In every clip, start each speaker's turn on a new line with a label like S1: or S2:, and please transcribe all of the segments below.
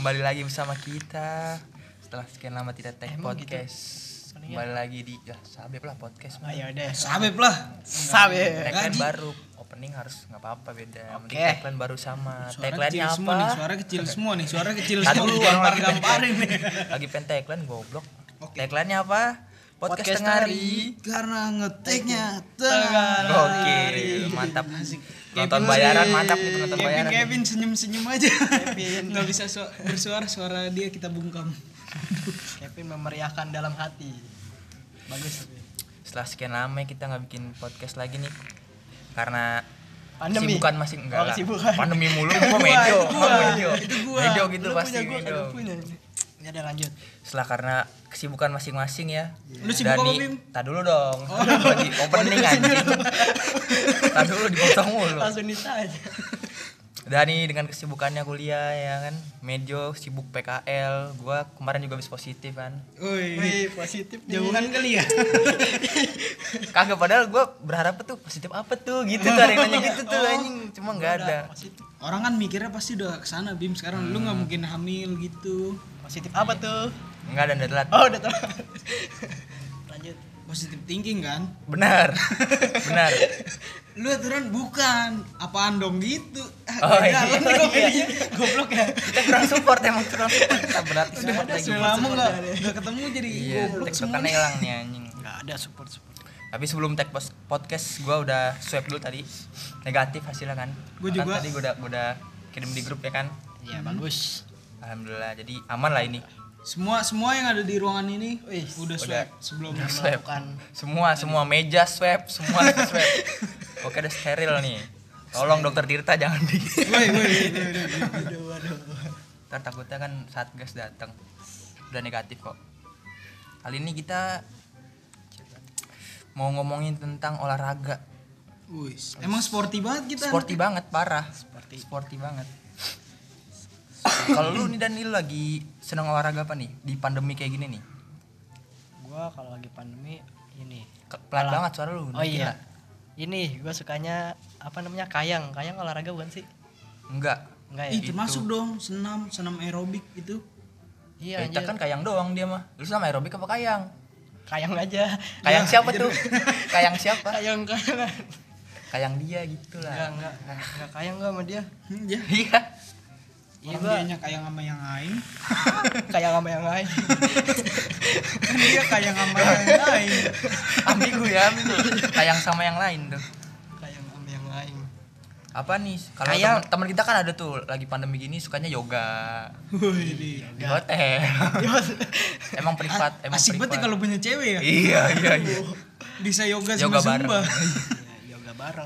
S1: kembali lagi bersama kita setelah sekian lama tidak tag podcast.
S2: Gitu.
S1: Kembali lagi di Sabep lah podcast.
S2: Ya udah.
S3: Sabep lah.
S2: Sabep.
S1: Tagline baru, opening harus nggak apa-apa beda. Mending tagline baru sama.
S3: Suara
S1: Tagline-nya
S3: kecil
S1: apa?
S3: semua nih, suara kecil semua nih, suara kecil
S1: Tadi
S3: semua.
S1: lu
S3: Gampar-gamparin nih.
S1: Lagi pengen tagline goblok.
S3: Oke.
S1: Tagline-nya apa? Podcast tengah hari.
S3: Karena ngeteknya tengah
S1: Oke,
S3: hari.
S1: mantap.
S3: Asik.
S1: Nonton
S3: Kevin
S1: bayaran
S3: sih.
S1: mantap nih nonton bayaran.
S3: Kevin senyum-senyum aja.
S2: Kevin.
S3: Nggak bisa bersuara, suara dia kita bungkam.
S2: Kevin memeriahkan dalam hati. Bagus.
S1: Setelah sekian lama kita nggak bikin podcast lagi nih karena
S2: Pandemi.
S1: kesibukan masing enggak lah.
S2: Kesibukan.
S1: Pandemi mulu gua medio.
S3: Itu gua.
S1: Medio gitu
S2: Lu
S1: pasti
S2: punya gua,
S1: medio.
S2: kagak punya. Ya udah lanjut.
S1: Setelah karena kesibukan masing-masing ya.
S3: Lu sibuk apa, Bim?
S1: Tar dulu dong. Lagi opening anjing. Tar dulu dipotong mulu.
S2: Langsung ditanya.
S1: Dani dengan kesibukannya kuliah ya kan. Medio sibuk PKL. Gua kemarin juga habis positif kan.
S3: Wih,
S2: Positif nih.
S3: jauhan kali ya.
S1: Kagak padahal gua berharap tuh positif apa tuh gitu tuh ada yang nanya gitu tuh anjing. Cuma enggak ada.
S2: Positif.
S3: Orang kan mikirnya pasti udah kesana Bim. Sekarang lu nggak mungkin hamil gitu.
S2: Positif apa tuh?
S1: Enggak ada udah telat.
S2: Oh, udah tahu. Lanjut.
S3: Positive thinking kan.
S1: Benar. Benar.
S3: Lu aturan bukan apaan dong gitu.
S1: Oh, iya.
S3: Jalan
S1: Oh,
S3: dong
S1: iya.
S3: ini. Goblok ya.
S1: Kita kurang support emang kurang support. Kita berarti support lagi.
S3: Sudah lama nggak ketemu jadi
S1: Iya,
S3: goblok semua.
S1: tektokannya hilang nih anjing.
S2: Enggak ada support.
S1: Tapi sebelum tag podcast gua udah swab dulu tadi. Negatif hasilnya kan.
S3: Gua
S1: Kan
S3: juga.
S1: tadi gua udah kirim di grup ya kan.
S2: Iya, bagus.
S1: Alhamdulillah. Jadi aman lah ini.
S3: Semua yang ada di ruangan ini
S2: Wih,
S3: udah swab sebelum
S1: Swab.
S2: Melakukan
S1: Semua meja swab, semua swab. Oke, udah steril nih. Tolong dokter Tirta jangan di.
S2: Waduh.
S1: Ntar takutnya kan Satgas datang. Udah negatif kok. Kali ini kita mau ngomongin tentang olahraga.
S3: Wih, emang sporty banget kita.
S1: Sporty banget, parah. Sporty banget. Kalau lu nih dan lu lagi seneng olahraga apa nih di pandemi kayak gini nih?
S2: Gua kalau lagi pandemi ini.
S1: Pelan banget suara lu.
S2: Oh iya. Ini gua sukanya apa namanya? Kayang olahraga bukan sih?
S1: Enggak.
S2: Enggak ya?
S3: Ih, termasuk dong senam aerobik itu.
S2: Iya,
S1: Kita kan kayang doang dia mah. Lu sama aerobik apa kayang?
S2: kayang aja.
S1: Kayang siapa tuh? Kayang siapa?
S2: Kayang.
S1: Kayang dia gitu lah.
S2: Enggak kayang gua sama dia.
S3: Ya.
S1: Iya.
S2: Iya
S3: Orang
S2: gua
S3: dianya kayak sama yang lain.
S2: kayang sama yang lain.
S3: Kan dia kayak sama yang lain.
S1: Ambigu ya, ambigu. Kayang sama yang lain tuh.
S2: Kayang sama yang lain.
S1: Apa nih? Kalau
S2: Kayang.
S1: teman kita kan ada tuh lagi pandemi gini sukanya yoga
S3: Wih,
S1: di hotel. Emang privat, emang
S3: asik banget ya
S1: privat.
S3: kalau punya cewek ya.
S1: Iya.
S3: Bisa yoga
S1: Yoga
S3: sama
S1: bareng.
S3: zumba.
S2: Ya, yoga bareng.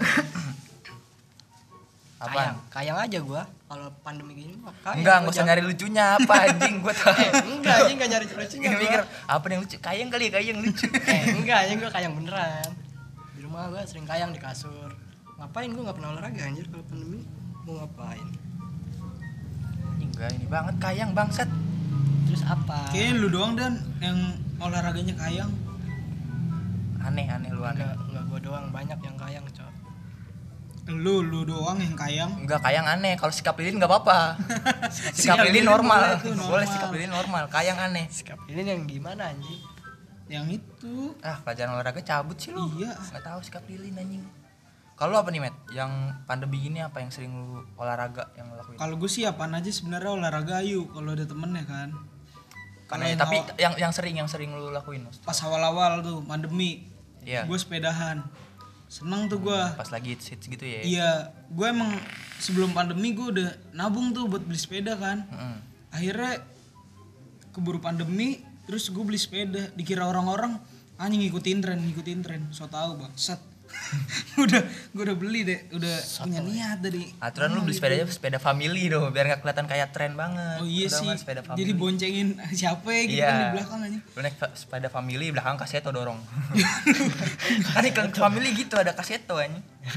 S1: Apaan?
S2: Kayang aja gua kalau pandemi gini mah kayang.
S1: Enggak
S2: Gua
S1: usah
S2: jangan-
S1: nyari lucunya apa anjing gua tahu.
S2: Enggak anjing enggak nyari lucunya.
S1: Ini
S2: gua.
S1: mikir apa yang lucu? Kayang kali ya, kayang lucu.
S2: Enggak anjing gua kayang beneran. Di rumah gua sering kayang di kasur. Ngapain gua enggak pernah olahraga anjir kalau pandemi. Mau ngapain?
S1: Enggak ini banget kayang bangsat.
S2: Terus apa?
S3: Kayaknya lu doang dan yang olahraganya kayang.
S1: Aneh lu aneh.
S2: Enggak gua doang, banyak yang kayang, Cok.
S3: Lu doang yang kayang.
S1: Enggak kayang aneh. Kalau sikap lilin enggak apa-apa. Sikap lilin
S3: lilin
S1: normal.
S3: boleh tuh, normal.
S1: Boleh sikap lilin normal. Kayang aneh.
S2: Sikap ini yang gimana anjing?
S3: Yang itu.
S1: Ah, pelajaran olahraga cabut sih lu.
S3: Iya.
S1: Enggak tahu sikap lilin anjing. Kalau apa nih, Met? Yang pandemi gini apa yang sering lu olahraga yang lu lakuin?
S3: Kalau gue sih apaan aja sebenarnya olahraga ayu kalau ada temennya kan. Kalau
S1: Aneh,
S3: yang
S1: tapi
S3: awal-
S1: yang sering lu lakuin, Mas.
S3: pas awal-awal tuh pandemi,
S1: Iya.
S3: gue sepedahan. Seneng tuh gue.
S1: Pas lagi hits gitu ya.
S3: Iya, gue emang sebelum pandemi gue udah nabung tuh buat beli sepeda kan.
S1: Heeh.
S3: Akhirnya keburu pandemi, terus gue beli sepeda. Dikira orang-orang anjing ngikutin tren, so tau bangsat. gue udah beli deh, udah punya niat dari.
S1: Aturan lu beli sepeda aja sepeda family dong, biar nggak kelihatan kayak tren banget.
S3: Oh iya
S1: Udah
S3: sih.
S1: mah sepeda family.
S3: Jadi boncengin siapa ya gitu
S1: Iya.
S3: kan di belakang aja.
S1: Lu naik sepeda family belakang kaseto dorong. Kan iklan family gitu ada kaseto aja.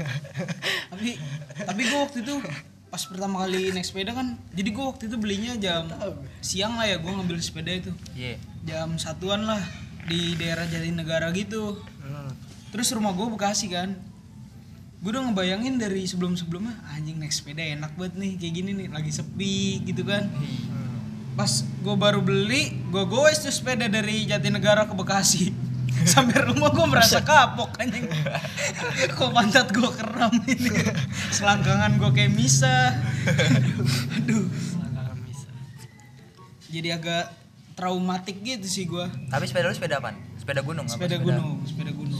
S3: tapi gue waktu itu pas pertama kali naik sepeda kan, jadi gue waktu itu belinya jam siang lah ya, gue ngambil sepeda itu
S1: Iya.
S3: jam 1-an lah di daerah Jatinegara gitu. Terus rumah gue Bekasi kan, gue udah ngebayangin dari sebelumnya anjing naik sepeda enak banget nih kayak gini nih, lagi sepi gitu kan. pas gue baru beli, gue goes tuh sepeda dari Jatinegara ke Bekasi. Sampai rumah gue merasa kapok anjing. Kok pantat gue kram ini. Selangkangan gue kayak misa. Aduh.
S2: Selangkangan bisa.
S3: Jadi agak traumatik gitu sih gue.
S1: Tapi sepeda lu sepeda apaan? Sepeda gunung apa
S3: Sepeda gunung.
S2: Sepeda gunung.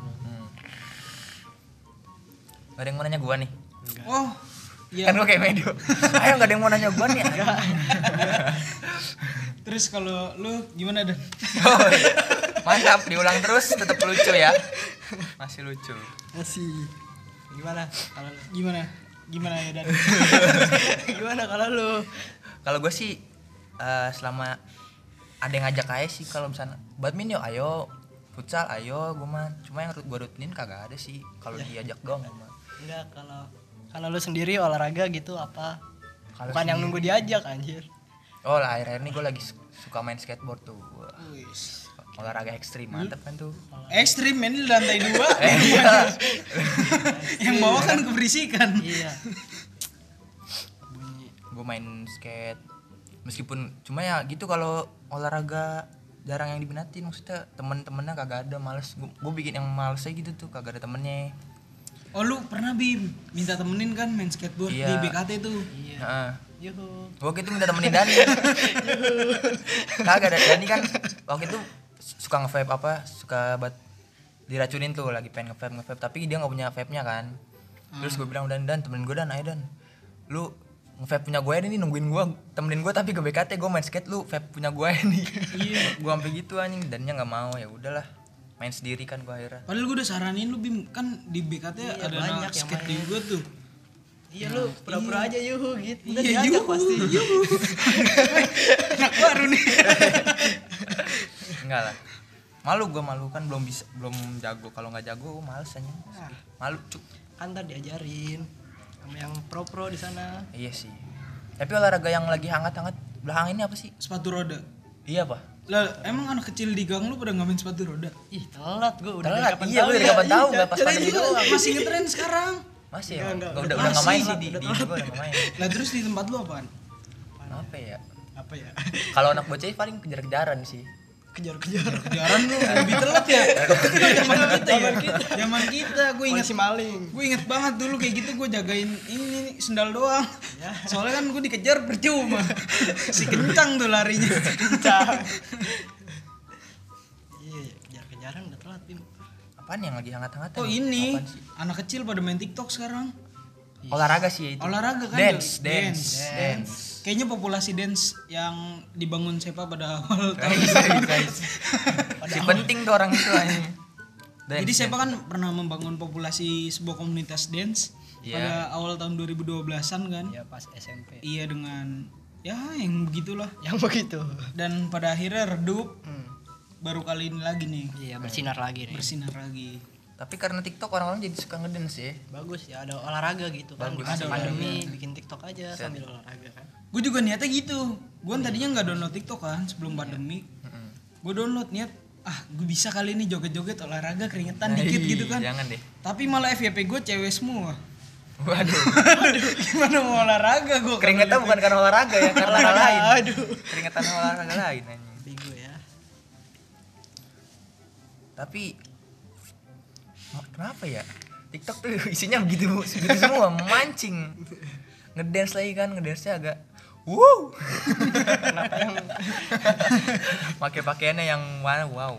S1: Gak ada yang mau nanya gua nih.
S3: Oh, iya.
S1: Kan gua kayak medio. Ayo gak ada yang mau nanya gua nih.
S3: Terus kalau lu gimana Dan?
S1: Oh, mantap, diulang terus tetap lucu ya. Masih lucu.
S2: Masih. Gimana kalau lu?
S3: Gimana ya Dan?
S2: Gimana kalau lu?
S1: Kalau gua sih selama ada yang ngajak aja sih, kalau misalnya badminton yuk ayo, futsal ayo, gua mah cuma yang gua rutinin kagak ada sih kalau diajak doang gua mah.
S2: Enggak, kalau lu sendiri olahraga gitu apa?
S1: Kalau
S2: Bukan yang nunggu diajak anjir.
S1: Oh lah, akhir-akhir ini gue lagi suka main skateboard tuh. Wah,
S3: Wis.
S1: olahraga ekstrim, mantep kan tuh.
S3: Ekstrim main di lantai 2.
S1: Iya.
S3: Yang bawah kan keberisikan.
S2: Iya. Bunyi.
S1: Gue main skate. Meskipun cuma ya gitu, kalau olahraga jarang yang diminatin, maksudnya temen-temennya kagak ada, males. Gue bikin yang males aja gitu tuh, kagak ada temennya.
S3: Oh lu pernah Bim minta temenin kan main skateboard
S1: Iya.
S3: di BKT tuh.
S2: Iya.
S1: Heeh.
S2: Yuhu.
S1: Waktu itu minta temenin Dani. Kagak ada, Dani kan waktu itu suka nge-vape suka buat diracunin tuh, lagi pengen nge-vape tapi dia nggak punya vape-nya kan. Terus gue bilang, Dan temenin gue Dan, ayo Dan. Lu nge-vape punya gue nih, nungguin gue, temenin gue tapi ke BKT gue main skate, lu vape punya gue nih. Iya. Gue sampai gitu anjing, Dannya nggak mau, ya udahlah. Main sendiri kan gue akhirnya.
S3: Padahal gue udah saranin lu Bim, kan di BKT
S2: Iya,
S3: ada
S2: banyak
S3: anak
S2: yang
S3: skate
S2: main.
S3: juga tuh.
S2: Iya lu pura-pura aja yuhu gitu. Ntar
S3: Iya,
S2: diajak
S3: yuhu,
S2: pasti.
S3: yuhu. Anak baru nih.
S1: Enggak lah. Malu kan belum jago. Kalau nggak jago males aja. Malu cuk.
S2: Kan ntar diajarin sama yang pro di sana.
S1: Iya sih. Tapi olahraga yang lagi hangat-hangat belakangan ini apa sih?
S3: Sepatu roda.
S1: Iya pak.
S3: Lah emang anak kecil di gang lu pada nggak main sepatu roda?
S2: Ih, telat gua udah
S1: Telat,
S2: dari kapan
S1: iya
S2: tahu
S1: gue dari
S2: ya.
S1: kapan tahu,
S2: Iya,
S1: nggak pas
S2: jadi
S1: pandemi
S2: gitu.
S1: doang.
S3: Masih ngetren sekarang.
S1: Masih ya?
S2: Enggak,
S1: Udah nggak main sih di
S2: udah
S1: gue udah nggak main.
S3: Lah terus di tempat lu apaan?
S1: Apa ya?
S2: Apa ya?
S1: Kalau anak bocah paling kejar-kejaran sih.
S2: Kejar-kejar.
S3: Kejaran lu lebih telat ya. Zaman kita ya. Zaman kita gue ingat
S2: Polisi maling.
S3: Gue inget banget dulu kayak gitu, gue jagain ini sendal doang.
S2: Ya.
S3: Soalnya kan gue dikejar percuma. Si kencang tuh larinya.
S2: Kencang. Iya, kejar-kejaran udah telat, Bim.
S1: Apaan yang lagi hangat-hangat?
S3: Oh ini
S1: Apaan sih?
S3: anak kecil pada main TikTok sekarang.
S1: Olahraga sih itu.
S3: Olahraga kan?
S1: Dance.
S3: Kayaknya populasi dance yang dibangun Sepa pada awal tahun.
S1: Guys. Si penting tuh orang itu aja.
S3: Jadi Sepa kan pernah membangun populasi sebuah komunitas dance
S1: Iya.
S3: pada awal tahun 2012-an kan.
S2: Ya pas SMP.
S3: Iya dengan ya yang begitulah.
S2: Yang begitu.
S3: Dan pada akhirnya redup, baru kali ini lagi nih
S2: Iya, bersinar lagi nih.
S3: bersinar lagi.
S1: Tapi karena TikTok orang-orang jadi suka ngedance ya.
S2: Bagus ya, ada olahraga gitu kan. Di
S1: Bagus.
S2: masa
S3: Ada
S2: pandemi bikin TikTok aja sambil olahraga kan.
S3: Gue juga niatnya gitu. Gue tadinya nggak download TikTok kan sebelum pandemi. Gue download niat, gue bisa kali ini joget-joget olahraga keringetan dikit gitu kan.
S1: Jangan deh.
S3: Tapi malah FYP gue cewek semua.
S1: Waduh.
S3: Gimana mau olahraga gue?
S1: Keringetan bukan karena olahraga ya, karena hal lain.
S2: Aduh.
S1: Keringetan olahraga lain anjing.
S2: Bego ya.
S1: Tapi kenapa ya? TikTok tuh isinya begitu semua, memancing. Ngedance lagi kan, ngedance-nya agak wow.
S2: Kenapa yang
S1: Pakai pakaiannya yang wow.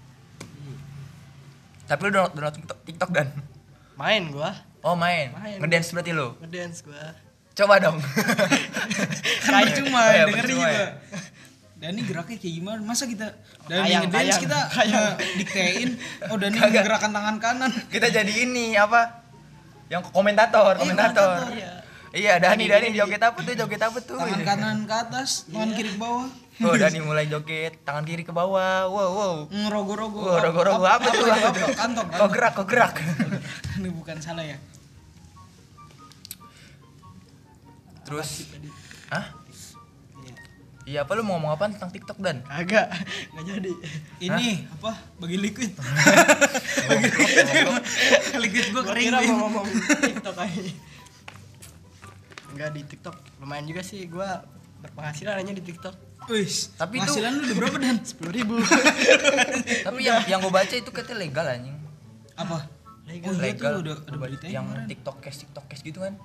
S1: Tapi lu download TikTok dan
S2: main gua?
S1: oh main.
S2: Main.
S1: Ngedance berarti lu.
S2: Ngedance gua.
S1: Coba dong.
S3: Kan percuma
S1: Oh, iya,
S3: dengerin
S1: percuma
S3: juga.
S1: ya.
S3: Dan ini geraknya kayak gimana? Masa kita dari
S2: Kayang,
S3: ngedance
S2: kayang,
S3: kita
S2: kayang.
S3: diktein, oh Dani
S1: Kagak.
S3: gerakan tangan kanan.
S1: Kita jadi ini apa? Yang komentator.
S3: komentator.
S2: Iya.
S1: Iya, Dani joget apa tuh?
S3: Tangan kanan ke atas, tangan kiri ke bawah.
S1: Oh, Dani mulai joget, tangan kiri ke bawah. Wow.
S3: Ngerogo-rogo.
S1: Wah, rogo-rogo apa tuh?
S3: Kantong.
S1: Kok gerak.
S3: Ini bukan salah ya.
S1: Terus hah?
S2: Iya.
S1: Iya, apa lu mau ngomong apa tentang TikTok dan?
S2: Kagak, enggak jadi.
S3: Ini apa? Bagi liquid. Liquid gua
S2: Gua
S3: kering.
S2: kira
S3: Bim.
S2: mau ngomong TikTok aja. Enggak, di TikTok lumayan juga sih gua berpenghasilan aja di TikTok.
S3: Wis,
S1: Tapi itu-
S3: penghasilan lu udah berapa Dan?
S2: 10.000.
S1: Tapi yang gue baca itu katanya legal anjing.
S3: Apa?
S2: Legal.
S3: Oh iya
S1: Legal.
S3: tuh udah ada beritanya
S1: yang
S3: kemarin.
S1: TikTok cash gitu kan.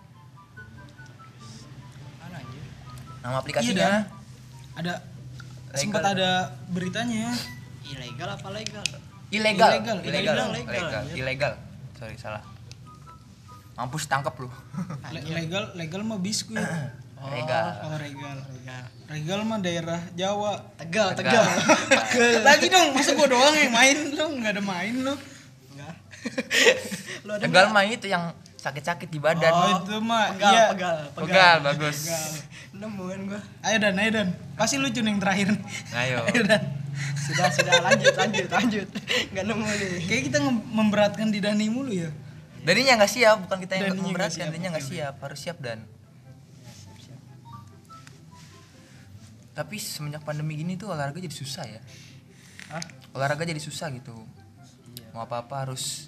S2: Mana anjir?
S1: Nama
S3: Iya
S1: aplikasinya.
S3: Dan. Ada
S1: Legal.
S3: sempat ada beritanya.
S2: Ilegal apa legal?
S1: Ilegal.
S3: Ilegal.
S1: Ilegal.
S2: Ilegal, legal.
S1: Ilegal. Sorry salah. Mampus tangkap lu.
S3: Legal mah biskuit.
S1: Legal.
S3: Oh regal.
S2: Legal.
S3: Regal mah daerah Jawa.
S2: Tegal.
S3: Lagi dong, masa gua doang yang main lu nggak ada main lu.
S2: Enggak. Lu ada
S1: Tegal
S2: nggak?
S1: mah itu yang sakit-sakit di badan.
S3: Oh itu mah
S2: Pegal,
S3: iya.
S1: Pegal, bagus.
S2: Nemu kan gua.
S3: Ayo Dan. Pasti lucu nih yang terakhir.
S1: Ayo.
S3: Ayo Dan.
S2: Sudah lanjut. Enggak nemu nih.
S3: Kayak kita memberatkan di Dani mulu ya.
S1: Daninya nggak siap, bukan kita yang
S3: Daninya nggak
S1: memberatkan.
S3: siap,
S1: Daninya nggak
S3: oke.
S1: siap, harus siap Dan. Tapi semenjak pandemi gini tuh olahraga jadi susah ya.
S2: Hah?
S1: Olahraga jadi susah gitu. Mau apa-apa harus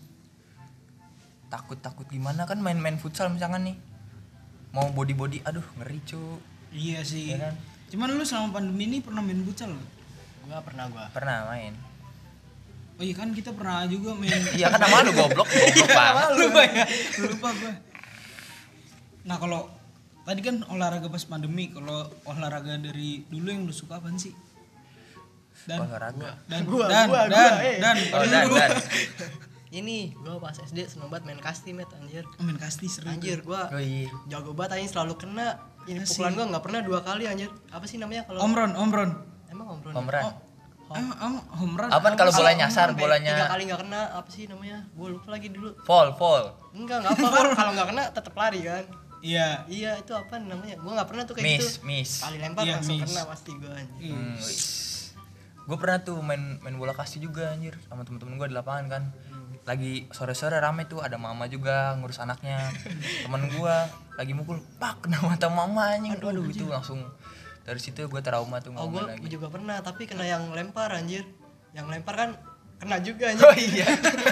S1: takut gimana kan main futsal misalkan nih. Mau body, aduh ngeri cu.
S3: Iya sih.
S1: Iya kan?
S3: Cuman lu selama pandemi ini pernah main futsal nggak?
S2: Gua pernah.
S1: Pernah main.
S3: Oh iya kan kita pernah juga main.
S1: Iya kan nama lu goblok banget.
S3: Lupa gua. Nah kalau tadi kan olahraga pas pandemi, kalau olahraga dari dulu yang lu suka apaan sih?
S1: Olahraga.
S3: Dan
S2: Gua,
S1: Oh, Dan.
S2: Ini gua pas SD seneng banget main kasti met anjir.
S3: main kasti seru.
S2: Anjir gua
S1: Oh iya.
S2: jago banget anjir, selalu kena. Ini
S3: Asik.
S2: pukulan gua enggak pernah 2 kali anjir. Apa sih namanya kalau
S3: Omron.
S2: emang omron?
S1: Pemeran.
S3: Emang home run.
S1: Apaan kalau
S2: Apa sih?
S1: bola nyasar,
S2: Omron,
S1: bolanya
S2: 3 kali enggak kena, apa sih namanya? Gua lupa lagi dulu.
S1: fall.
S2: Enggak apa kan kalau enggak kena tetap lari kan.
S3: Iya.
S2: Iya, itu apa namanya? Gua enggak pernah tuh kayak gitu.
S1: Miss.
S2: Kali lempar
S3: Iya,
S2: langsung
S3: miss.
S2: kena pasti gua anjir.
S1: Gue pernah tuh main bola kasti juga anjir sama temen-temen gue di lapangan kan. Lagi sore-sore rame tuh, ada mama juga ngurus anaknya. Temen gue lagi mukul, pak kena mata mama anjing. Aduh itu langsung dari situ gue trauma tuh
S2: Oh,
S1: ngomong
S2: gua
S1: lagi.
S2: juga pernah, tapi kena yang lempar anjir. Yang lempar kan kena juga anjir.
S1: Oh iya.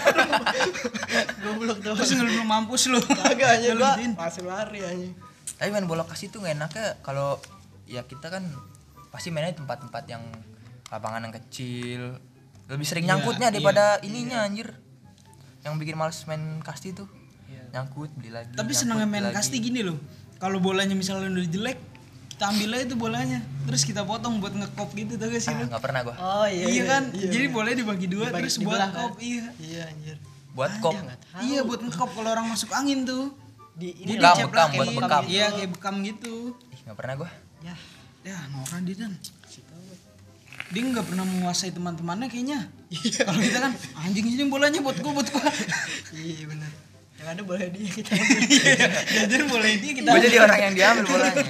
S2: Goblok tuh.
S3: Terus belum mampus lu.
S2: Kagak anjir gua
S3: Ngelutin.
S2: langsung lari anjir.
S1: Tapi main bola kasti tuh gak enaknya kalau ya kita kan pasti mainnya di tempat-tempat yang lapangan yang kecil. Lebih sering
S3: Iya,
S1: nyangkutnya
S3: iya,
S1: daripada ininya anjir. Yang bikin males main kasti tuh.
S2: Iya.
S1: Nyangkut, beli lagi.
S3: Tapi
S1: nyangkut,
S3: senangnya main
S1: beli lagi.
S3: kasti gini loh. Kalau bolanya misalnya udah jelek, kita ambil aja tuh bolanya. Terus kita potong buat ngekop gitu tuh gak sih lu?
S1: Enggak pernah gua.
S2: Oh
S3: Iya kan?
S2: iya.
S3: Jadi bolanya dibagi dua
S2: Dibagi-
S3: terus buat
S2: dibelah kan?
S3: kop. Iya.
S2: Iya anjir.
S1: Buat kop.
S2: Ya, nggak tahu.
S3: Iya buat ngekop kalau orang masuk angin tuh.
S2: Di
S3: Dia
S1: Bekam,
S3: diceplakin.
S1: buat bekam.
S3: Iya kayak bekam gitu.
S1: Ih, enggak pernah gua.
S2: Ya,
S3: Ya norak dia Dan.
S2: si tahu.
S3: Dia nggak pernah menguasai teman-temannya kayaknya. Kalau kita kan anjing sini bolanya buat gua.
S2: Iya benar. Yang ada boleh dia kita.
S3: Jadi boleh dia kita.
S1: Gua jadi orang yang diambil bolanya.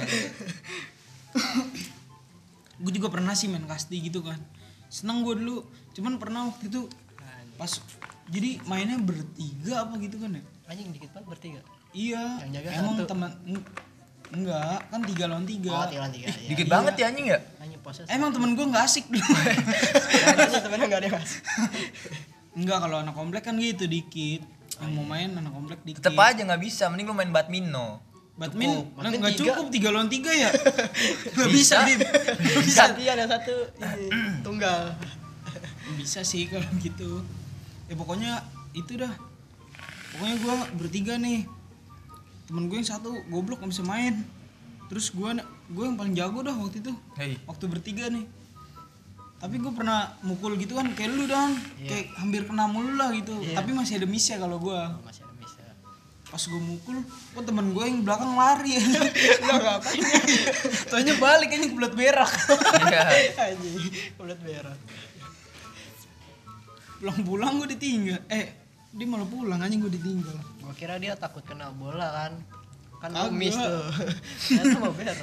S3: Gue juga pernah sih main kasti gitu kan. Senang gue dulu. Cuman pernah waktu itu pas jadi mainnya bertiga apa gitu kan ya?
S2: Anjing dikit banget bertiga.
S3: Iya.
S2: Yang jaga
S3: Emang
S2: satu.
S3: teman enggak kan 3 lawan 3.
S2: Oh, tiga tiga. Ya.
S1: Dikit banget ya anjing ya.
S2: Anjing poses.
S3: Emang temen gue nggak asik dulu.
S2: Anjing temennya enggak ada Mas.
S3: Enggak kalau anak komplek kan gitu dikit. Yang mau main anak komplek dikit.
S1: Tetep aja nggak bisa, mending lu main badminton.
S3: Badminton
S2: Badminton
S3: nggak
S2: tiga.
S3: cukup 3 lawan 3 ya? Nggak bisa, Bim.
S2: Bisa dia ada satu ini tunggal.
S3: Bisa sih kalau gitu. Ya pokoknya itu dah. Pokoknya gue bertiga nih. Temen gue yang satu goblok gak bisa main. Terus gue yang paling jago dah waktu itu.
S1: Hei.
S3: Waktu bertiga nih. Tapi gue pernah mukul gitu kan kayak lu Dan. Kayak hampir kena mulu lah gitu.
S2: Iya.
S3: Tapi masih ada miss ya kalau gue.
S2: Oh, masih ada bisa.
S3: Pas gue mukul, kok temen gue yang belakang lari.
S2: Lo ngapain?
S3: Taunya balik aja ke belat berak.
S1: Iya.
S2: Anjing, udah berak.
S3: Pulang-pulang gue ditinggal. Dia malah pulang aja gue ditinggal.
S2: Gua kira dia takut kena bola kan. Kan
S3: Kagak.
S2: lu miss tuh. Ternyata mau berak.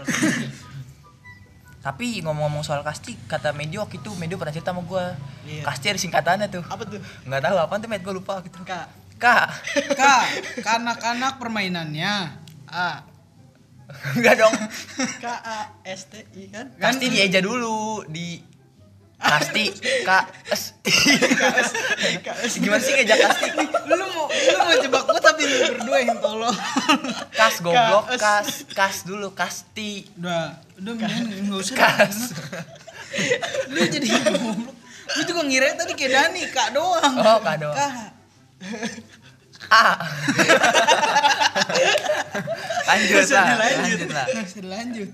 S1: Tapi ngomong-ngomong soal kasti, kata Medio waktu itu Medio pernah cerita sama gua.
S2: Iya.
S1: Kasti ada singkatannya tuh.
S2: Apa tuh?
S1: Enggak tahu apaan tuh, Med, gua lupa gitu.
S2: Kak.
S1: Kak.
S3: Kak, kanak-kanak permainannya.
S2: A.
S1: Enggak dong.
S2: K A S T I kan?
S1: Kasti dieja dulu di Kasti Gimana sih ngejak kasti?
S3: Lu mau jebak gua tapi lu berdua Lu yang tolol.
S1: Kas goblok, kas dulu, kasti.
S3: Udah mendingan enggak usah.
S1: Kas.
S3: Lu jadi goblok. Lu juga ngira tadi kayak Dani, Kak doang.
S1: Oh, Kak doang.
S3: Kak.
S1: Lanjut lah.
S3: Bisa lanjut.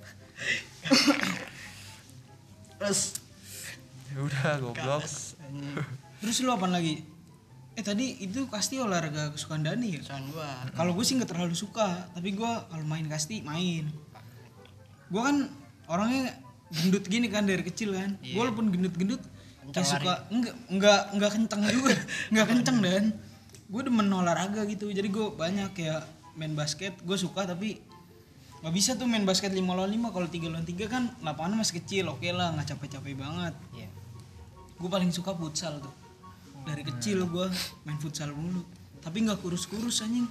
S2: Terus
S1: Udah goblok.
S2: kas anjing.
S3: Terus lu apa lagi? Tadi itu kasti olahraga kesukaan Dani ya?
S2: Kesukaan gua.
S3: Kalau gue sih nggak terlalu suka, tapi gue kalau main kasti main. Gue kan orangnya gendut gini kan dari kecil kan.
S2: Iya.
S3: Walaupun gendut-gendut
S2: Kencang
S3: kayak suka enggak kencang juga, enggak kencang dan gue demen olahraga gitu. Jadi gue banyak kayak main basket, gue suka tapi nggak bisa tuh main basket 5 lawan 5. Kalau 3 lawan 3 kan lapangannya masih kecil, oke lah, nggak capek-capek banget.
S2: Iya.
S3: Gue paling suka futsal tuh. Dari kecil gue main futsal mulu, tapi nggak kurus-kurus anjing.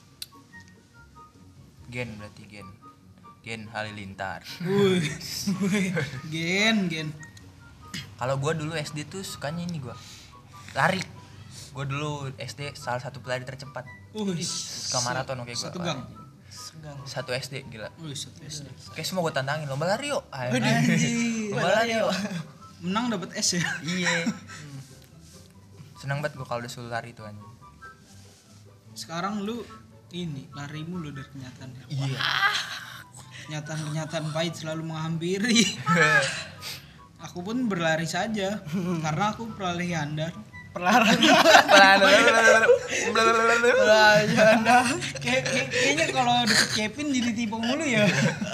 S1: Gen berarti Gen Halilintar.
S3: Wih, gen.
S1: Kalau gua dulu SD tuh sukanya ini gua. Lari. Gua dulu SD salah satu pelari tercepat. Suka maraton kayak gua.
S3: Satu gang.
S2: Segang.
S1: Satu SD gila.
S3: Satu SD.
S1: Kayak semua gua tantangin lomba lari yuk.
S3: Anjing.
S1: Lomba lari yuk.
S3: Menang dapat S ya.
S1: Iya. Senang banget gua kalau udah suruh lari tuh anjing.
S3: Sekarang lu ini lari mulu dari kenyataan.
S1: Iya.
S3: Kenyataan pahit selalu menghampiri. Aku pun berlari saja karena aku peralih handar. Kayaknya kalau deket Kevin jadi tipe mulu ya.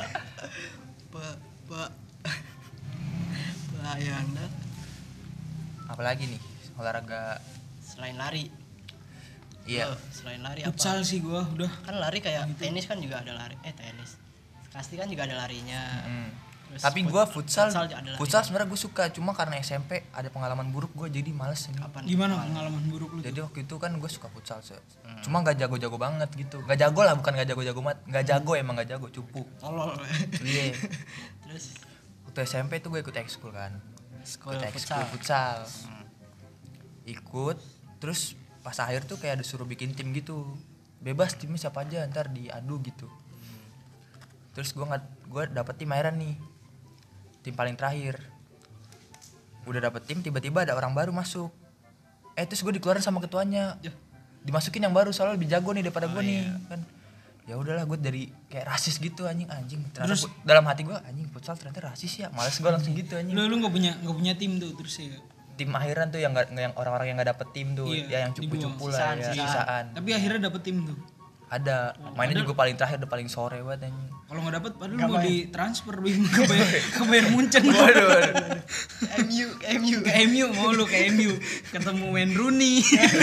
S2: Pak. Anda
S1: Apalagi nih olahraga
S2: selain lari.
S1: iya.
S2: Selain lari apa?
S3: Futsal sih gua udah.
S2: Kan lari kayak tenis kan juga ada lari. Tenis. Kasti kan juga ada larinya. Terus
S1: Tapi gua futsal
S2: juga ada larinya.
S1: futsal sebenarnya gue suka, cuma karena SMP ada pengalaman buruk gue jadi males ini.
S2: Kapan?
S3: Gimana pengalaman buruk lu?
S1: Jadi waktu itu kan gue suka futsal cuma gak jago-jago banget gitu. Gak jago lah, bukan gak jago-jago banget. Gak jago, emang gak jago, cupu.
S2: Tolol.
S1: Iya.
S2: Terus
S1: Waktu SMP tuh gue ikut ekskul kan.
S2: Ekskul
S1: Ikut ekskul futsal. Ikut, terus pas akhir tuh kayak disuruh bikin tim gitu. Bebas timnya siapa aja, ntar diadu gitu. Terus gue dapet tim akhiran nih. Tim paling terakhir. Udah dapet tim, tiba-tiba ada orang baru masuk. Terus gue dikeluarin sama ketuanya. Dimasukin yang baru soalnya lebih jago nih daripada gue nih kan. Ya udahlah, gue dari kayak rasis gitu anjing. Terus dalam hati gue anjing futsal ternyata rasis ya. Males gue langsung gitu anjing.
S3: Lu enggak punya tim tuh terus ya.
S1: Tim akhiran tuh yang orang-orang yang enggak dapet tim tuh, ya yang cupu-cupu lah ya, sisaan.
S3: Tapi akhirnya dapet tim tuh.
S1: Ada. Mainnya juga paling terakhir, udah paling sore banget anjing.
S3: Kalau nggak dapet padahal mau ditransfer ke Bayern Munchen.
S1: Waduh.
S3: MU mau lu ke MU ketemu Wayne Rooney.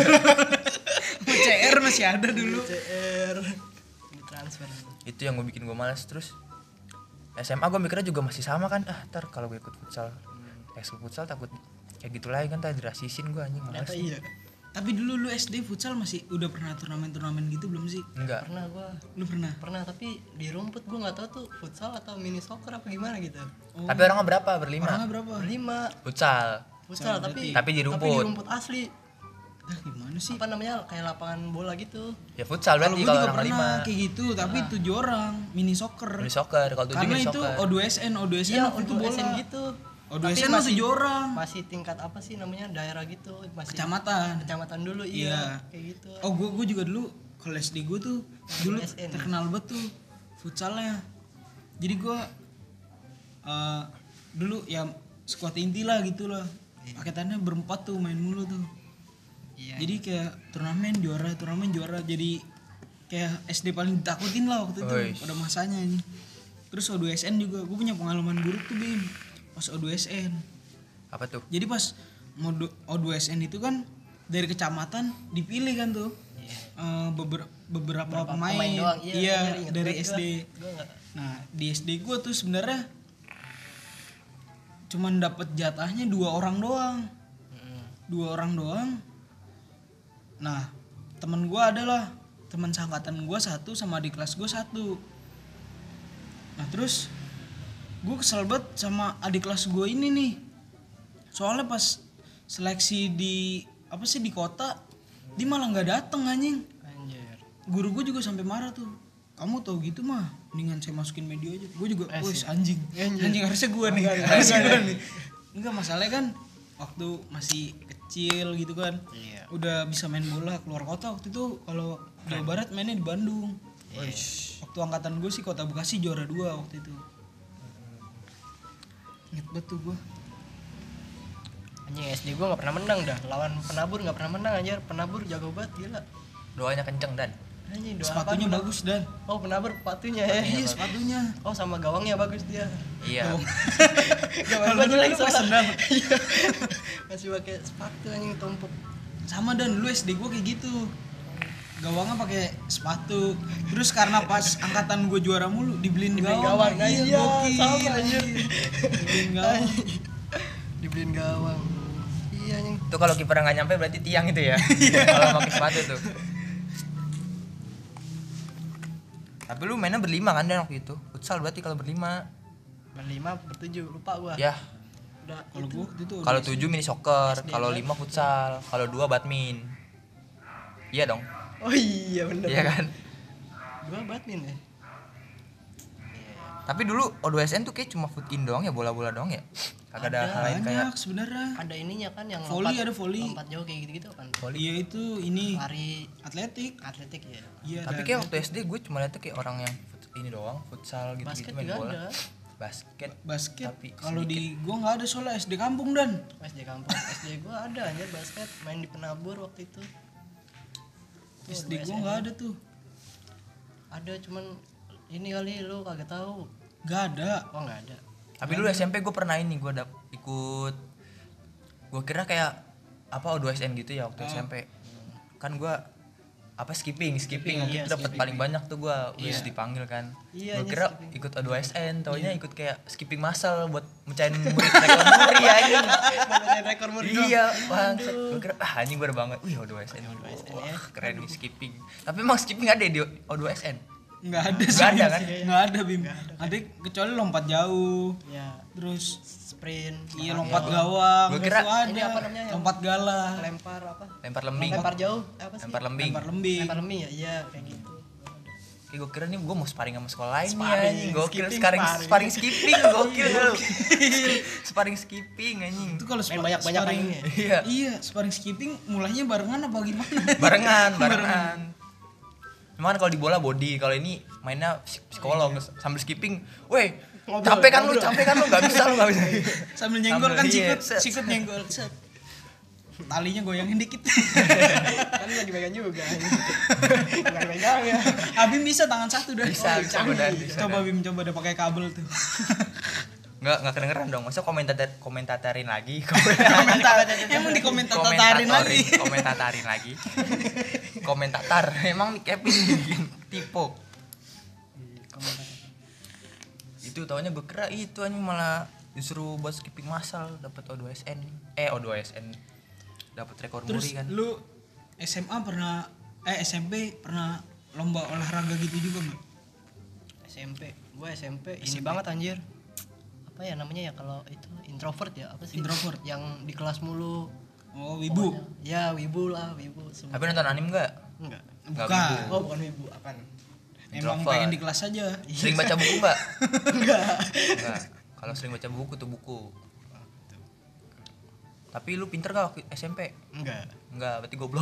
S3: CR masih ada dulu.
S2: CR ditransfer.
S1: Itu yang bikin gue malas. Terus SMA gue mikirnya juga masih sama kan. Ntar kalau gue ikut futsal, ekskul futsal takut kayak gitu lagi kan, tadi dirasisin gue anjing, malas.
S2: Iya.
S3: Tapi dulu lu SD futsal masih udah pernah turnamen gitu belum sih?
S1: Enggak.
S2: Pernah gua.
S3: Lu pernah?
S2: Pernah, tapi di rumput gua enggak tahu tuh futsal atau mini soccer apa gimana gitu.
S1: Tapi orangnya berapa? Berlima.
S3: Orangnya berapa?
S2: Berlima.
S1: Futsal.
S2: Futsal
S3: berarti.
S1: Tapi di rumput.
S2: Tapi di rumput asli.
S3: Gimana sih?
S2: Apa namanya? Kayak lapangan bola gitu.
S1: Ya futsal
S3: Kalau
S1: berarti
S3: gue
S1: kalau
S3: juga
S1: orang
S3: pernah
S1: lima.
S3: kayak gitu, tapi 7 orang mini soccer.
S1: Mini soccer, kalau 7
S3: Karena
S1: mini
S3: itu
S1: soccer.
S3: O2SN
S2: Iya,
S3: itu
S2: untuk
S3: bola.
S2: SN gitu.
S3: O2SN
S2: Tapi
S3: 7 orang.
S2: Masih tingkat apa sih namanya? Daerah gitu, masih
S3: Kecamatan
S2: dulu
S3: Iya.
S2: kayak gitu.
S3: Oh, gue juga dulu kalau SD gue tuh dulu
S2: SN.
S3: terkenal banget tuh futsalnya. Jadi gue dulu ya skuad inti lah gitu lah. Paketannya berempat tuh main mulu tuh.
S2: Iya.
S3: Jadi kayak turnamen juara. Jadi kayak SD paling ditakutin lah waktu itu pada masanya ini. Terus O2SN juga gue punya pengalaman buruk tuh Bim. Pas O2SN.
S1: Apa tuh?
S3: Jadi pas O2SN itu kan dari kecamatan dipilih kan tuh. Beberapa pemain
S2: doang.
S3: iya
S2: inget
S3: dari
S2: banget
S3: SD.
S2: Gua enggak.
S3: Nah di SD gue tuh sebenarnya cuman dapat jatahnya 2 orang doang. 2 orang doang. Nah temen gue adalah teman seangkatan gue 1 sama di kelas gue 1. Nah terus gue kesel banget sama adik kelas gue ini nih. Soalnya pas seleksi di apa sih di kota dia malah nggak dateng anjing.
S2: Anjir.
S3: guru gue juga sampai marah tuh. Kamu tahu gitu mah, mendingan saya masukin media aja. Gue juga, wes anjing harusnya gue nih, harusnya gue nih. Enggak, masalahnya kan waktu masih kecil gitu kan,
S2: Iya.
S3: udah bisa main bola keluar kota waktu itu. Kalau Jawa Barat mainnya di Bandung. Waktu angkatan gue sih Kota Bekasi juara 2 waktu itu. Ingat banget tuh gue.
S2: Anjing SD gua enggak pernah menang dah. Lawan Penabur enggak pernah menang anjir. Penabur jago banget gila.
S1: Doanya kenceng dan.
S2: Anjing doa
S3: Sepatunya
S2: apaan,
S3: bagus dan.
S2: Oh, Penabur sepatunya ya.
S3: Iya sepatunya.
S2: Oh, sama gawangnya bagus dia.
S1: Iya.
S2: Gawang
S3: Kalau
S2: gua
S3: dulu
S2: jelek
S3: lu pas
S2: soalnya.
S3: sendal.
S2: Iya. Masih pakai sepatu anjing tumpuk.
S3: Sama dan dulu SD gue kayak gitu. Gawangnya pakai sepatu. Terus karena pas angkatan gue juara mulu dibeliin gawang.
S2: Iya,
S3: gokil.
S2: sama anjir.
S3: Dibeliin gawang.
S2: Dibeliin gawang. Iya anjing.
S1: Itu kalau kiper nggak nyampe berarti tiang itu ya. Kalau pakai sepatu tuh. Tapi lu mainnya berlima kan dan waktu itu. Futsal berarti kalau berlima.
S2: Berlima, bertujuh, lupa gua.
S1: Ya.
S2: Udah
S3: Kalau gue waktu itu
S1: Kalau 7 mini soccer,
S2: SD
S1: kalau
S2: kan?
S1: 5 futsal, kalau 2 badmin. Iya dong.
S2: Oh iya bener.
S1: Iya kan?
S2: Gua badmin ya.
S1: Tapi dulu O2SN tuh kayak cuma foot in doang ya, bola-bola doang ya. Kagak ada hal lain kayak
S3: banyak sebenarnya.
S2: Ada ininya kan yang
S3: Volley, ada volley.
S2: lompat jauh kayak gitu-gitu kan.
S3: Iya itu ini
S2: Lari
S3: atletik.
S2: atletik ya.
S3: Iya.
S1: tapi
S3: ada
S1: kayak waktu SD gue cuma liatnya kayak orang yang ini doang, futsal gitu-gitu
S2: Basket
S1: main
S2: juga
S1: bola.
S2: ada.
S1: Basket.
S3: basket.
S1: Tapi
S3: Kalau
S1: sedikit.
S3: di gua nggak ada soalnya SD kampung dan.
S2: SD kampung. SD gua ada anjir basket main di Penabur waktu itu. Tuh,
S3: SD
S2: dua
S3: gua
S2: SMA.
S3: nggak ada tuh.
S2: Ada cuman ini kali lu kagak tahu.
S3: Nggak ada.
S2: Oh enggak ada.
S1: Tapi dulu SMP gue pernah ini gue ikut, gue kira kayak apa O2SN gitu ya waktu SMP. Kan gue apa skipping waktu
S2: iya,
S1: itu dapat
S2: skipping.
S1: paling banyak tuh gue wis dipanggil kan.
S2: Iya,
S1: Gue
S2: iya,
S1: kira
S2: skipping.
S1: ikut O2SN, taunya ikut kayak skipping massal buat mecahin rekor muri anjing.
S2: Bacain rekor muri doang.
S1: Iya, bangsat. Gue kira anjing baru banget. Wih, O2SN. Wah, keren nih skipping. Tapi emang skipping ada di O2SN.
S3: Nggak ada sih.
S1: Nggak ada kan?
S3: Nggak ada Bim. Ada kecuali lompat jauh.
S2: Ya,
S3: Terus
S2: sprint.
S3: iya lompat gawang.
S1: Gua kira
S3: itu ada.
S2: ini apa namanya yang-
S3: Lompat galah.
S2: Lempar apa?
S1: Lempar lembing.
S2: Lempar jauh apa sih?
S1: Lempar lembing.
S3: Lempar lembing.
S2: Lempar lembing ya? Iya, kayak gitu.
S1: Kayak gue kira nih gue mau sparring sama sekolah lain nih
S2: Sparring,
S1: anjing. Gokil
S2: skipping,
S1: sparring
S2: sparring.
S1: sparring skipping gokil lu. Sparring skipping anjing.
S3: Itu kalau
S2: Main banyak-banyak
S3: sparring-
S2: mainnya.
S1: Iya.
S3: Iya, sparring skipping mulainya barengan apa gimana?
S1: Barengan. Cuma kan kalau di bola body, kalau ini mainnya psikolog sambil skipping. Weh,
S2: Ngobrol,
S1: capek kan lu,
S2: ngobrol.
S1: enggak bisa lu enggak bisa.
S3: Sambil nyenggol kan
S1: Sambil,
S3: sikut,
S1: iya, set.
S3: sikut nyenggol. Set. Talinya goyangin dikit.
S2: Kan lagi pegang juga. Enggak pegang ya.
S3: Abim bisa tangan satu dah.
S1: Bisa, bisa godan, bisa.
S3: Coba Bim coba udah pakai kabel tuh.
S1: Enggak kedengeran dong. Masa komentatarin lagi.
S3: Emang di komentatarin lagi.
S1: Komentatarin lagi. Komentatar. Emang nih Kevin bikin tipe. Itu taunya gue kira itu anjing malah disuruh buat skipping massal dapat O2SN. O2SN. Dapat rekor
S3: Terus
S1: muri kan.
S3: lu SMA pernah SMP pernah lomba olahraga gitu juga enggak?
S2: SMP. Gua SMP ini banget anjir. Apa ya namanya ya kalau itu introvert ya apa sih?
S3: Introvert.
S2: Yang di kelas mulu.
S3: Oh, wibu.
S2: Pokoknya. Ya, wibu lah, wibu.
S1: Tapi nonton anime enggak?
S2: Enggak.
S1: Enggak
S3: Bukan.
S1: wibu.
S2: Oh, bukan wibu, apaan?
S3: Emang
S1: Introvert.
S3: pengen di kelas aja.
S1: Sering baca buku enggak?
S2: Enggak.
S1: Enggak. Kalau sering baca buku tuh buku. Tapi lu pinter gak waktu SMP?
S2: Enggak.
S1: Enggak, berarti goblok.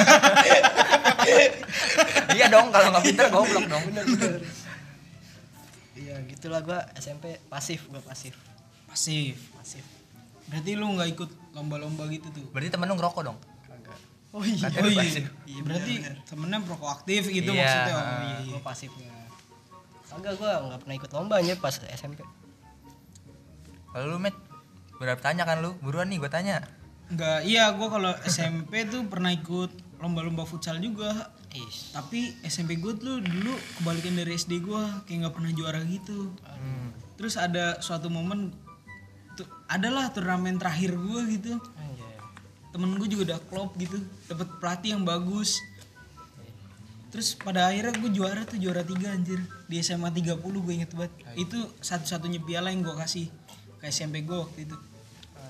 S1: Iya dong, kalau nggak pinter goblok dong.
S2: Bener. Iya, gitulah gua SMP pasif,
S3: Pasif.
S2: pasif.
S3: Berarti lu nggak ikut lomba-lomba gitu tuh.
S1: Berarti temen lu ngerokok dong?
S2: Kagak. Oh iya.
S1: Katanya lu pasif.
S2: Iya,
S3: Berarti
S2: bener.
S3: temennya proaktif gitu
S1: Iya.
S3: maksudnya. Oh, iya.
S2: Gua pasifnya. Kagak, gua enggak pernah ikut lomba anjir pas SMP.
S1: Kalau lu Met, udah tanya kan lu? Buruan nih gue tanya.
S3: Enggak, iya gua kalau SMP tuh pernah ikut lomba-lomba futsal juga.
S2: Is.
S3: Tapi SMP gue tuh dulu kebalikan dari SD gue, kayak nggak pernah juara gitu. Terus ada suatu momen tuh adalah turnamen terakhir gue gitu.
S2: Anjir.
S3: Temen gue juga udah klop gitu, dapat pelatih yang bagus. Terus pada akhirnya gue juara 3 anjir di SMA 30, gue inget banget. Itu satu-satunya piala yang gue kasih ke SMP gue waktu itu.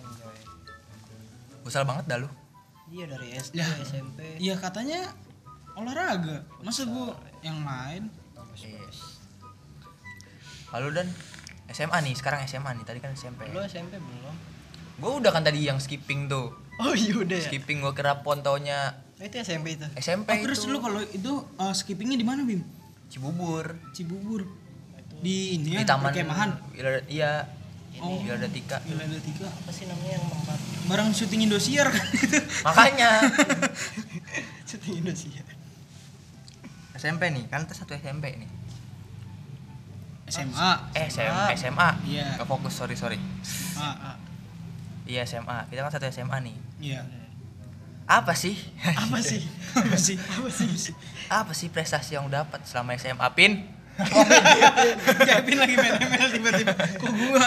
S1: Busal banget dah lu.
S2: Iya dari SD,
S3: Ya.
S2: SMP.
S3: Iya katanya olahraga. Masa gua yang lain?
S1: Yes. Kalau dan SMA nih, sekarang SMA nih. Tadi kan SMP.
S2: Lu SMP belum?
S1: Gue udah kan tadi yang skipping tuh.
S2: Oh iya udah ya.
S1: Skipping gue kira pontonya
S2: Oh, itu SMP itu.
S1: SMP
S3: Oh, terus
S1: itu.
S3: lu kalau itu skippingnya di mana, Bim?
S1: Cibubur.
S3: Cibubur. Di ini
S1: Di
S3: ya,
S1: taman
S3: perkemahan.
S1: Iya.
S3: Oh,
S1: Gila ada tiga.
S3: Gila ada 3.
S2: Apa sih namanya yang tempat
S3: Bareng syuting Indosiar kan itu.
S1: Makanya
S2: syuting Indonesia?
S1: SMP nih, kan kita satu SMP nih.
S3: SMA.
S1: SMA.
S3: Iya.
S1: Gak fokus, sorry.
S3: Ah,
S1: Iya SMA. Kita kan satu SMA nih.
S3: iya.
S1: Apa sih?
S2: Apa sih?
S3: Apa sih?
S1: Apa sih prestasi yang dapat selama SMA, Pin?
S3: Kevin lagi main ML tiba-tiba. Kok gua?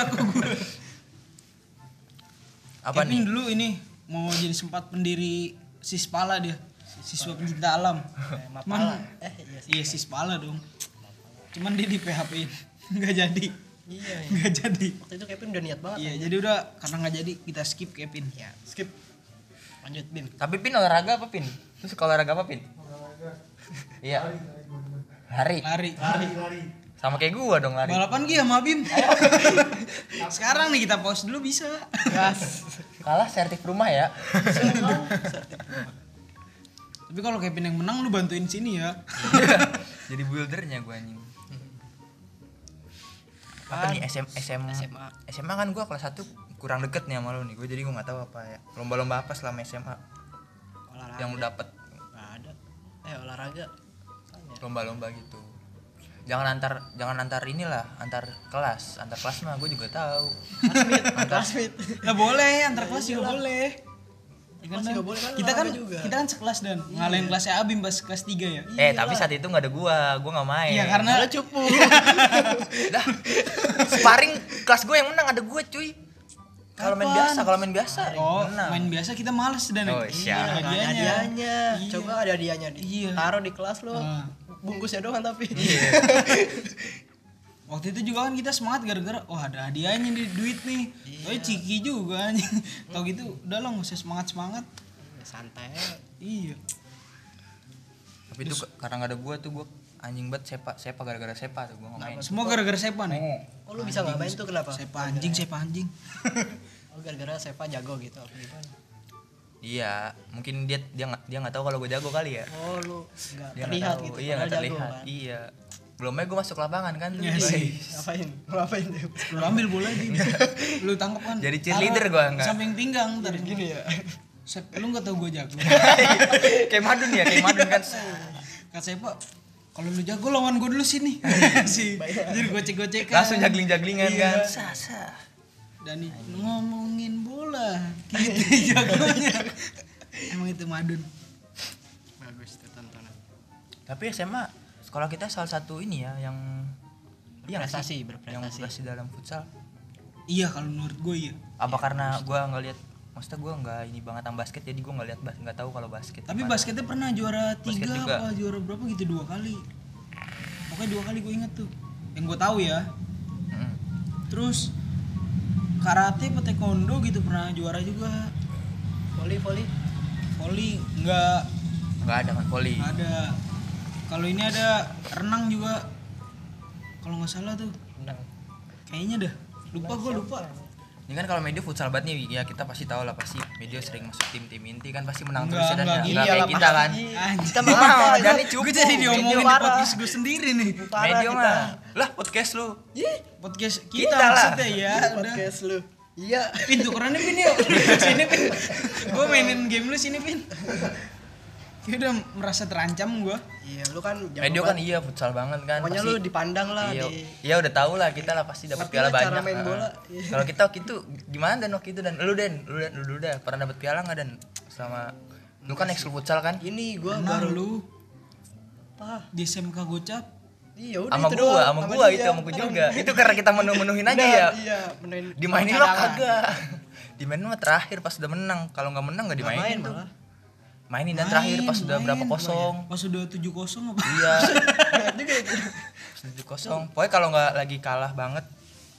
S1: Apa
S3: Kevin
S1: nih?
S3: dulu ini mau jadi sempat pendiri Sispala dia. Siswa pencinta alam.
S2: Mapala. Iya sih.
S3: Iya Sispala dong. Cuman dia di PHP-in. Enggak jadi.
S2: Iya.
S3: Enggak jadi.
S2: Waktu itu Kevin udah niat banget.
S3: Iya, jadi udah karena enggak jadi kita skip Kevin.
S2: Ya, skip. Lanjut Bim.
S1: Tapi Pin olahraga apa, Pin? Lu suka olahraga apa, Pin? Iya. Lari.
S3: Lari.
S1: Sama kayak gua dong lari.
S3: Balapan Gi sama Bim. Sekarang nih kita pause dulu bisa.
S2: Gas.
S1: Kalah sertif rumah ya.
S3: Tapi kalau Kevin yang menang lu bantuin sini ya.
S1: Jadi buildernya gua anjing. Apa nih SMA kan gua kelas 1 kurang deket nih sama lu nih. Gua jadi gua enggak tahu apa ya. Lomba-lomba apa selama SMA
S2: Olahraga.
S1: yang lu dapet?
S2: Nggak ada. Olahraga. Tanya.
S1: Lomba-lomba gitu. Jangan antar inilah, antar kelas mah gue juga tahu.
S2: Classmate.
S3: Lah boleh, antar kelas juga boleh. Ya kan,
S2: Kelas juga boleh kan,
S3: kita kan
S2: olahraga juga.
S3: kita kan sekelas dan ngalahin kelasnya Abim pas kelas 3 ya.
S1: Tapi saat itu nggak ada gua nggak main.
S3: Iya karena
S2: Karena cupu.
S1: Dah, sparring kelas gue yang menang ada gue cuy. Kalau main biasa, menang.
S3: main biasa kita males dan
S1: Oh, siap.
S2: Nggak ada hadiahnya.
S3: Iya.
S2: Coba ada hadiahnya di.
S3: Iya.
S2: Taruh di kelas lo.
S3: Nah.
S2: Bungkusnya doang tapi.
S1: Iya.
S3: Waktu itu juga kan kita semangat gara-gara ada hadiahnya di duit nih. Oh ciki juga anjing. Tau gitu udah lah nggak usah semangat.
S2: Santai.
S3: Iya.
S1: Tapi itu karena nggak ada gue tuh gue anjing banget sepa gara-gara sepa tuh gue nggak main.
S3: Semua gara-gara Sepa nih.
S2: Oh lu bisa nggak main tuh kenapa?
S3: Sepa anjing.
S2: Oh gara-gara Sepa jago gitu apa gimana?
S1: Iya, mungkin dia nggak tahu kalau gue jago kali ya.
S2: Oh lu nggak
S1: Dia nggak
S2: terlihat
S1: tahu.
S2: gitu.
S1: Iya nggak
S2: padahal jago
S1: terlihat.
S2: kan.
S1: Iya. Belumnya gue masuk lapangan kan.
S3: Iya
S1: Guys.
S3: sih.
S2: Ngapain tuh?
S3: Lu ambil bola di. Lu tangkap kan.
S1: Jadi cheerleader gua enggak.
S3: Samping pinggang ntar
S2: Gini ya.
S3: Sep, lu nggak tahu gue jago.
S1: Kayak Madun kan.
S3: Kata Sepa, kalau lu jago lawan gue dulu sini. Sih. Jadi gocek-gocekan.
S1: Langsung jagling-jaglingan
S3: Iya.
S1: kan. Sasa.
S3: Dani ngomongin bola, gitu jagonya. Emang itu Madun.
S2: Bagus tuh tontonan.
S1: Tapi SMA sekolah kita salah satu ini ya yang nggak sih?
S2: Berprestasi.
S1: Yang berprestasi dalam futsal.
S3: Iya kalau menurut gue iya.
S1: Apa karena gue nggak lihat, maksudnya gue nggak ini banget sama basket jadi gue nggak lihat nggak tahu kalau basket.
S3: Tapi
S1: gimana.
S3: basketnya pernah juara 3
S1: Basket juga.
S3: apa juara berapa gitu 2 kali. Pokoknya 2 kali gue inget tuh. Yang gue tahu ya.
S1: Mm.
S3: Terus karate apa taekwondo gitu pernah juara juga. Volley nggak
S1: Nggak ada kan voli.
S3: ada. Kalau ini ada renang juga. Kalau nggak salah tuh.
S2: Menang.
S3: Kayaknya dah. Gue lupa.
S1: Ini kan kalau media futsal banget nih ya kita pasti tahu lah pasti media sering masuk tim inti kan pasti menang
S3: Enggak,
S1: terus ya dan
S3: enggak
S1: ya.
S3: gini
S1: Nggak
S2: lah,
S1: kayak kita kan.
S2: pasti.
S3: Anjir.
S2: Kita mah
S1: Jadi cukup.
S3: Gue jadi diomongin
S2: Media
S3: di
S2: parah.
S3: podcast gue sendiri nih.
S2: Parah
S1: Media
S2: kita.
S1: mah. Lah podcast lu.
S3: Podcast kita,
S1: Kita lah.
S3: maksudnya ya. Udah.
S2: Podcast lu. Iya.
S3: Pin tukerannya Pin yuk. Sini Pin. Gue mainin game lu sini Pin. Kayak udah merasa terancam gue.
S2: Iya, lu kan jago
S1: Media kan
S2: banget.
S1: iya futsal banget kan.
S2: Pokoknya
S1: pasti.
S2: lu dipandang lah
S1: Iya,
S2: di
S1: iya udah tahu lah kita lah pasti dapat
S2: Ngerti
S1: piala
S2: lah cara
S1: banyak.
S2: main
S1: Heeh.
S2: bola. Iya.
S1: Kalau kita waktu itu gimana dan waktu itu dan lu udah pernah dapat piala nggak dan selama lu kan ekskul futsal kan?
S2: ini gua
S3: Nah
S2: baru
S3: lu
S2: apa?
S3: di SMK Gocap.
S2: Iya udah
S1: Sama
S2: itu
S1: gua,
S2: doang.
S1: sama gua itu
S2: dia.
S1: sama gua juga. Itu karena kita menuhin aja ya.
S2: Iya, menuhin.
S1: Dimainin mah
S2: cadangan.
S1: kagak. Dimainin mah terakhir pas udah menang. Kalau nggak menang nggak
S2: Nggak main
S1: dimainin tuh.
S2: malah.
S1: Mainin dan terakhir pas udah berapa kosong.
S3: Pas udah 7-0 apa?
S1: Iya.
S2: Lihat juga itu.
S1: 7-0. Pokoknya kalau nggak lagi kalah banget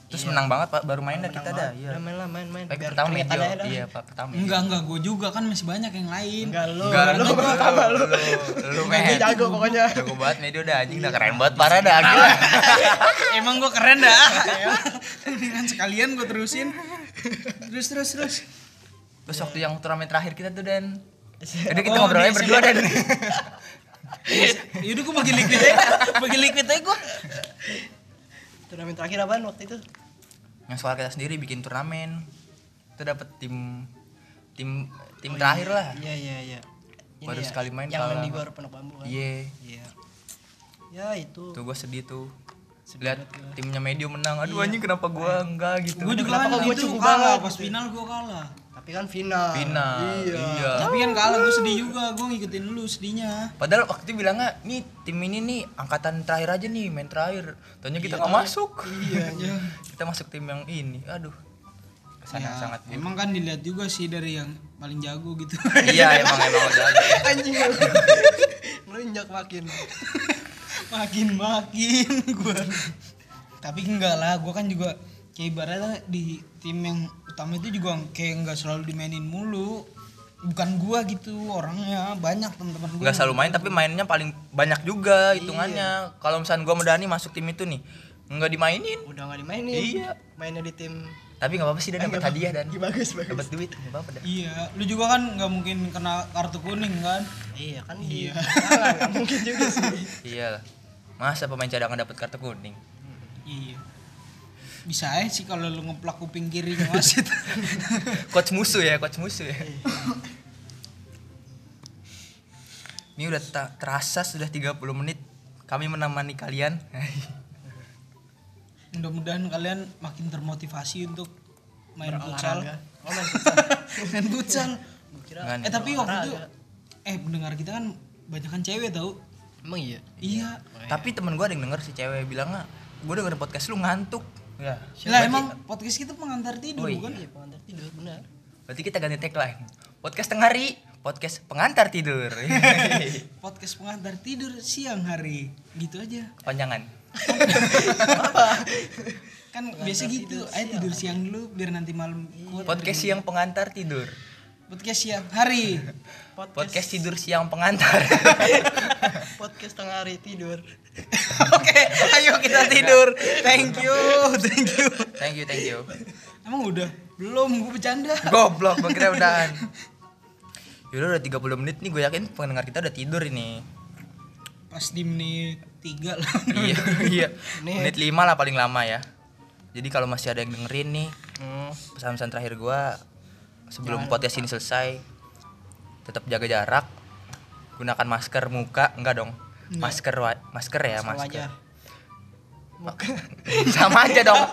S1: Terus menang banget Pak, baru main dah kita dah.
S2: Iya.
S1: Iya.
S2: Main lah, main.
S1: Pack
S2: Biar
S1: pertama
S2: keringetan
S1: Medio.
S2: aja dah.
S1: Iya, Pak pertama.
S3: Enggak, gue juga kan masih banyak yang lain.
S2: Enggak lu.
S1: Enggak,
S2: Lu pertama lu.
S1: Lu
S2: Lu jago pokoknya.
S1: Jago banget Medio dah anjing, dah keren banget parah dah gila.
S3: Emang gue keren dah. Dengan sekalian gue terusin. Terus.
S1: Terus waktu yang turnamen terakhir kita tuh Dan. Jadi kita
S3: Oh,
S1: ngobrolnya
S3: di
S1: berdua Dan.
S3: Yaudah gue bagi liquid aja gue.
S2: Turnamen terakhir apaan waktu itu?
S1: Yang soal kita sendiri bikin turnamen. Itu dapat tim terakhir lah.
S2: Iya. Ini
S1: Baru
S2: ya,
S1: sekali main
S2: yang
S1: kalah.
S2: main di Gor Pondok Bambu kan.
S1: Iya.
S2: Ya itu.
S1: Tuh gue sedih tuh.
S2: Sedih
S1: Lihat
S2: banget gua.
S1: timnya Medio menang. Aduh anjing kenapa gua enggak gitu.
S3: Gue juga
S2: Kenapa
S3: kan
S2: kok gua
S3: itu
S2: cukup
S3: kalah,
S2: banget
S3: pas
S2: gitu?
S3: final gue kalah.
S2: Tapi kan final.
S1: Iya.
S3: Tapi kan kalah gue sedih juga, gue ngikutin lu sedihnya.
S1: Padahal waktu itu bilangnya, nih tim ini nih angkatan terakhir aja nih, main terakhir. Taunya kita nggak masuk.
S3: Iya.
S1: Kita masuk tim yang ini. Aduh. Kesana
S3: Ya,
S1: sangat buruk.
S3: emang kan dilihat juga sih dari yang paling jago gitu.
S1: Iya emang udah ada.
S2: Anjing. Melunjak makin.
S3: makin gue. Tapi enggak lah, gue kan juga kayak ibaratnya di tim yang utama itu juga kayak nggak selalu dimainin mulu. Bukan gua gitu orangnya, banyak teman-teman gua.
S1: Nggak selalu main tapi mainnya paling banyak juga hitungannya. Kalau misalnya gua sama Dani masuk tim itu nih, nggak dimainin.
S2: Udah enggak dimainin.
S1: Iya.
S2: Mainnya di tim.
S1: Tapi nggak apa-apa sih Dan dapat hadiah Dan.
S2: Bagus.
S1: Dapat duit nggak apa-apa Dan.
S3: Iya, lu juga kan nggak mungkin kena kartu kuning kan?
S2: Iya kan
S3: Iya.
S2: Enggak mungkin juga sih.
S1: Iya. Masa pemain cadangan dapat kartu kuning?
S3: Iya. Bisa aja sih kalau lu ngeplak kuping kirinya wasit.
S1: Coach musuh ya. Ini udah terasa sudah 30 menit kami menemani kalian.
S3: Mudah-mudahan kalian makin termotivasi untuk main futsal.
S2: Olahraga. Oh, main futsal.
S3: Main futsal.
S2: Gua kira
S1: Nggak nih.
S3: Tapi waktu itu
S2: olahraga.
S3: pendengar kita kan banyak kan cewek tau.
S2: Emang iya.
S3: Iya.
S1: Tapi temen gue ada yang denger si cewek bilangnya, gue denger podcast lu ngantuk. Ya.
S3: Lah emang podcast kita pengantar tidur
S1: Oh,
S3: bukan?
S2: Iya, pengantar tidur benar.
S1: Berarti kita ganti tagline. Podcast tengah hari, podcast pengantar tidur.
S3: Podcast pengantar tidur siang hari. Gitu aja.
S1: Panjangan.
S3: Kan biasa gitu, ayo tidur siang dulu biar nanti malam kuat.
S1: Podcast siang pengantar tidur.
S3: Podcast siang hari.
S1: Podcast tidur siang pengantar.
S2: Podcast tengah hari tidur.
S1: Oke, ayo kita tidur.
S3: Thank you.
S1: Thank you.
S3: Emang udah? Belum, gue bercanda.
S1: Goblok, gue kira udahan. Yaudah udah 30 menit nih, gue yakin pendengar kita udah tidur ini.
S3: Pas di menit 3 lah.
S1: Iya. Menit 5 lah paling lama ya. Jadi kalau masih ada yang dengerin nih, pesan-pesan terakhir gue sebelum podcast ini selesai, tetap jaga jarak, gunakan masker muka, enggak dong. Masker ya, masker. Sama aja dong.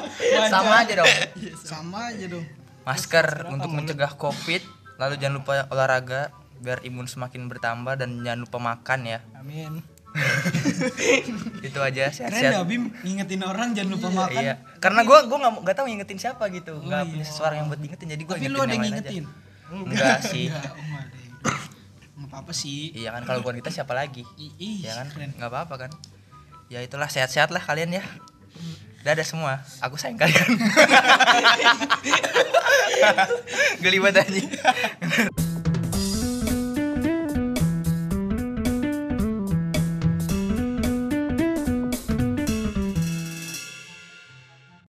S3: Sama aja dong.
S1: Masker untuk mencegah Covid, lalu jangan lupa olahraga biar imun semakin bertambah dan jangan lupa makan ya.
S2: Amin.
S1: Itu aja
S3: Keren dah
S1: sehat-sehat.
S3: Bim ngingetin orang jangan lupa makan.
S1: Iya. Karena gue nggak tahu ngingetin siapa gitu. Nggak punya seseorang yang buat ngingetin jadi gue
S3: Tapi lu ada yang ngingetin?
S1: Enggak sih.
S3: Enggak, ada. Enggak apa-apa sih.
S1: Iya kan kalau bukan kita siapa lagi?
S3: Ih,
S1: Ya kan?
S3: keren.
S1: Nggak apa-apa kan? Ya itulah sehat-sehat lah kalian ya. Dadah semua. Aku sayang kalian. Geli banget anjing.